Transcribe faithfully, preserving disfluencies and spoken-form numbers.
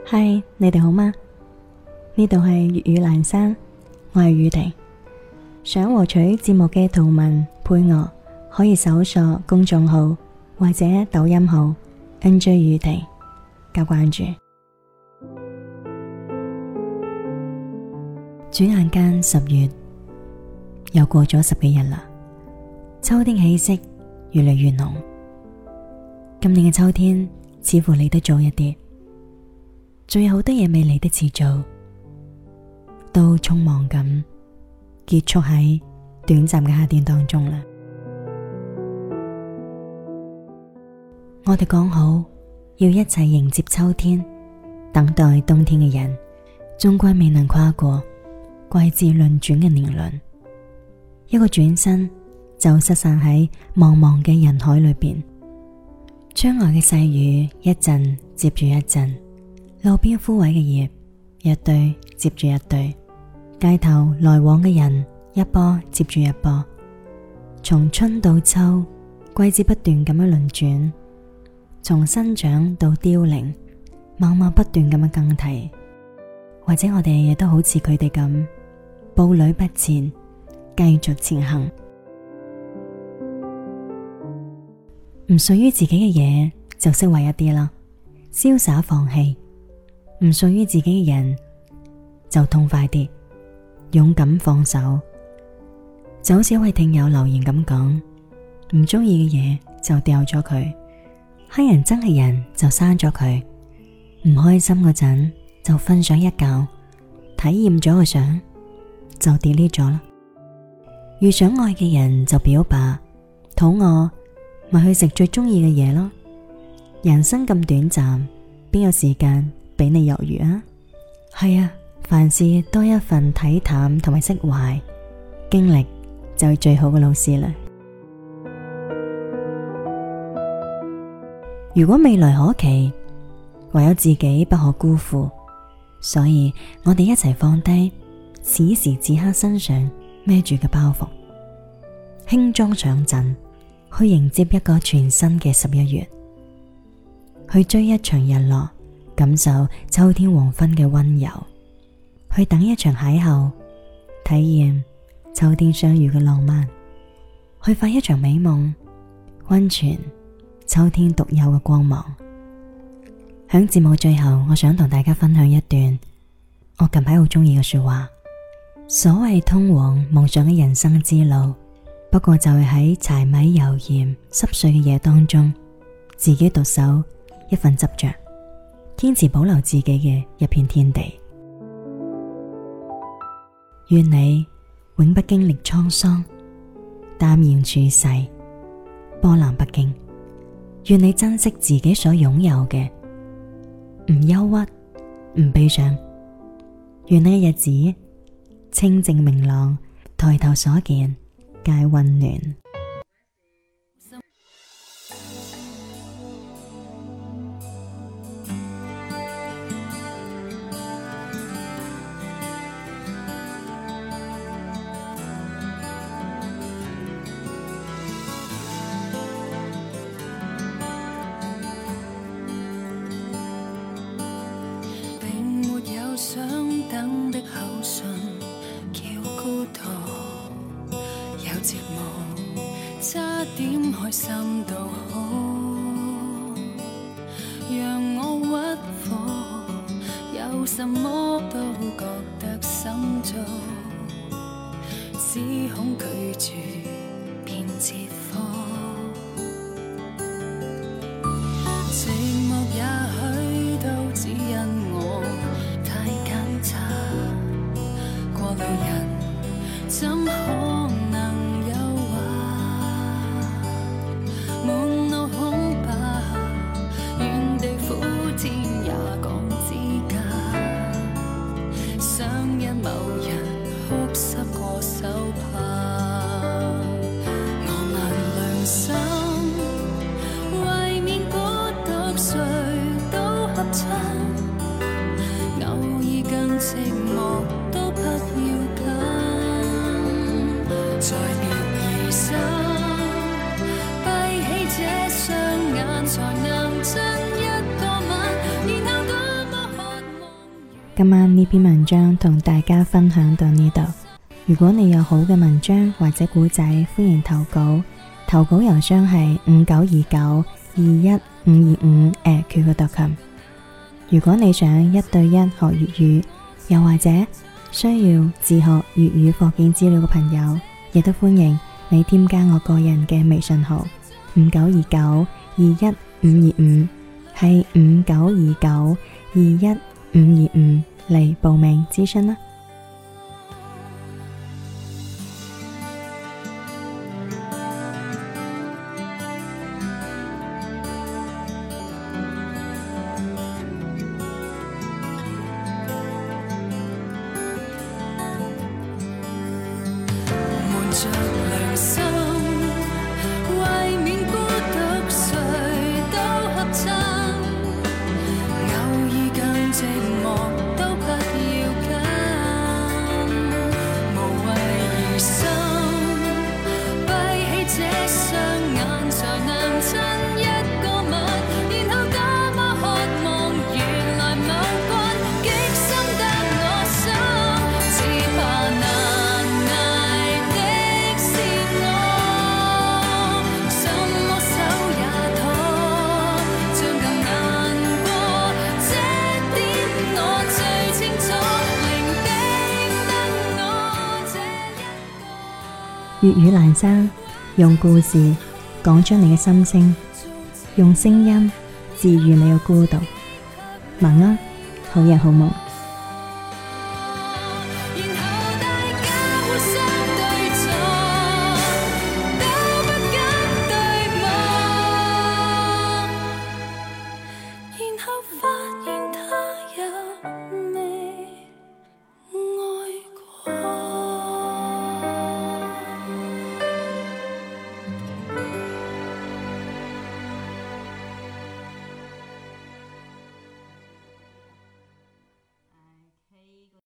嗨，Hi，你哋好嗎？呢度係粵語闌珊，我係宇婷。想獲取節目嘅圖文配樂，可以搜索公眾號或者抖音號 N J 宇婷加關注。轉眼間十月又過咗十幾日啦，秋天氣息越嚟越濃。今年嘅秋天似乎嚟得早一啲，仲有好多嘢未嚟得切做，都匆忙咁結束喺短暫嘅夏天當中啦。我哋講好要一齊迎接秋天，等待冬天嘅人，終歸未能跨過季節輪轉嘅年輪，一個轉身就失散喺茫茫嘅人海裏邊。窗外嘅細雨一陣接住一陣，路邊枯萎嘅葉一堆接住一堆，街頭來往嘅人一波接住一波。從春到秋，季節不斷咁樣輪轉，從生長到凋零，默默不斷咁樣更替。或者我哋亦都好似佢哋咁步履不前，繼續前行。唔屬於自己嘅嘢就釋懷一啲啦，瀟灑放棄；唔屬於自己嘅人就痛快啲，勇敢放手。就好似一位聽友留言咁講，唔中意嘅嘢就掉咗佢，乞人憎嘅人就刪咗佢，唔開心嗰陣就瞓上一覺，體驗咗個相就 delete 咗啦。遇上愛嘅人就表白，肚餓咪去食最中意嘅嘢咯。人生咁短暫，邊有時間俾你猶豫啊？係啊，凡事多一份體淡同埋釋懷，經歷就係最好嘅老師啦。如果未來可期，唯有自己不可辜負，所以我哋一齊放低此時此刻身上孭住嘅包袱，輕裝上陣，去迎接一個全新嘅十一月，去追一場日落，感受秋天黃昏嘅溫柔，去等一場邂逅，體驗秋天相遇嘅浪漫，去發一場美夢，溫存秋天獨有嘅光芒。響節目最後，我想同大家分享一段我近排好中意嘅說話。所謂通往夢想嘅人生之路，不過就係喺柴米油鹽濕碎嘅夜當中，自己獨守一份執着，堅持保留自己嘅一片天地。願你永不經歷滄桑，淡然處世，波瀾不驚。願你珍惜自己所擁有嘅，唔憂鬱，唔悲傷。願你嘅日子清靜明朗，抬頭所見皆溫暖。 並沒有想等的口信，叫孤獨有折磨，差點開心到好，讓我屈服，有什麼都覺得心糟，只恐拒絕變折磨。寂寞也許都只因我太揀擇，過路人怎可能誘惑？滿腦空白，原地苦天也講資格，想因某人哭濕過手帕，我問良心，為免孤獨誰都合襯，偶爾更寂寞都不要緊，在別離生，閉起這雙眼才能親一個吻，然後多麼可今晚呢篇文章同大家分享到呢度。如果你有好嘅文章或者古仔，歡迎投稿。投稿郵箱係五九二九二一五二五 at Q Q 點 com。如果你想一對一學粵語，又或者需要自學粵語課件資料嘅朋友，亦都歡迎你添加我個人嘅微信號五九二九二一五二五，係五九二九二一五二五嚟報名諮詢啦。 瞞着良心，為免孤獨，誰都合襯。偶爾更寂寞，都不要緊。無謂疑心，閉起這雙眼，才能親一個吻。然後多麼渴望，原來某君極深得我心，只怕難捱的是我，什麼手也拖，將更難過。這點我最清楚，伶仃得我這一個。 粵語闌珊，用故事講出你嘅心聲，用聲音治愈你嘅孤獨。晚安，好人好夢。 然後大家互相對坐，都不敢對望，然後發現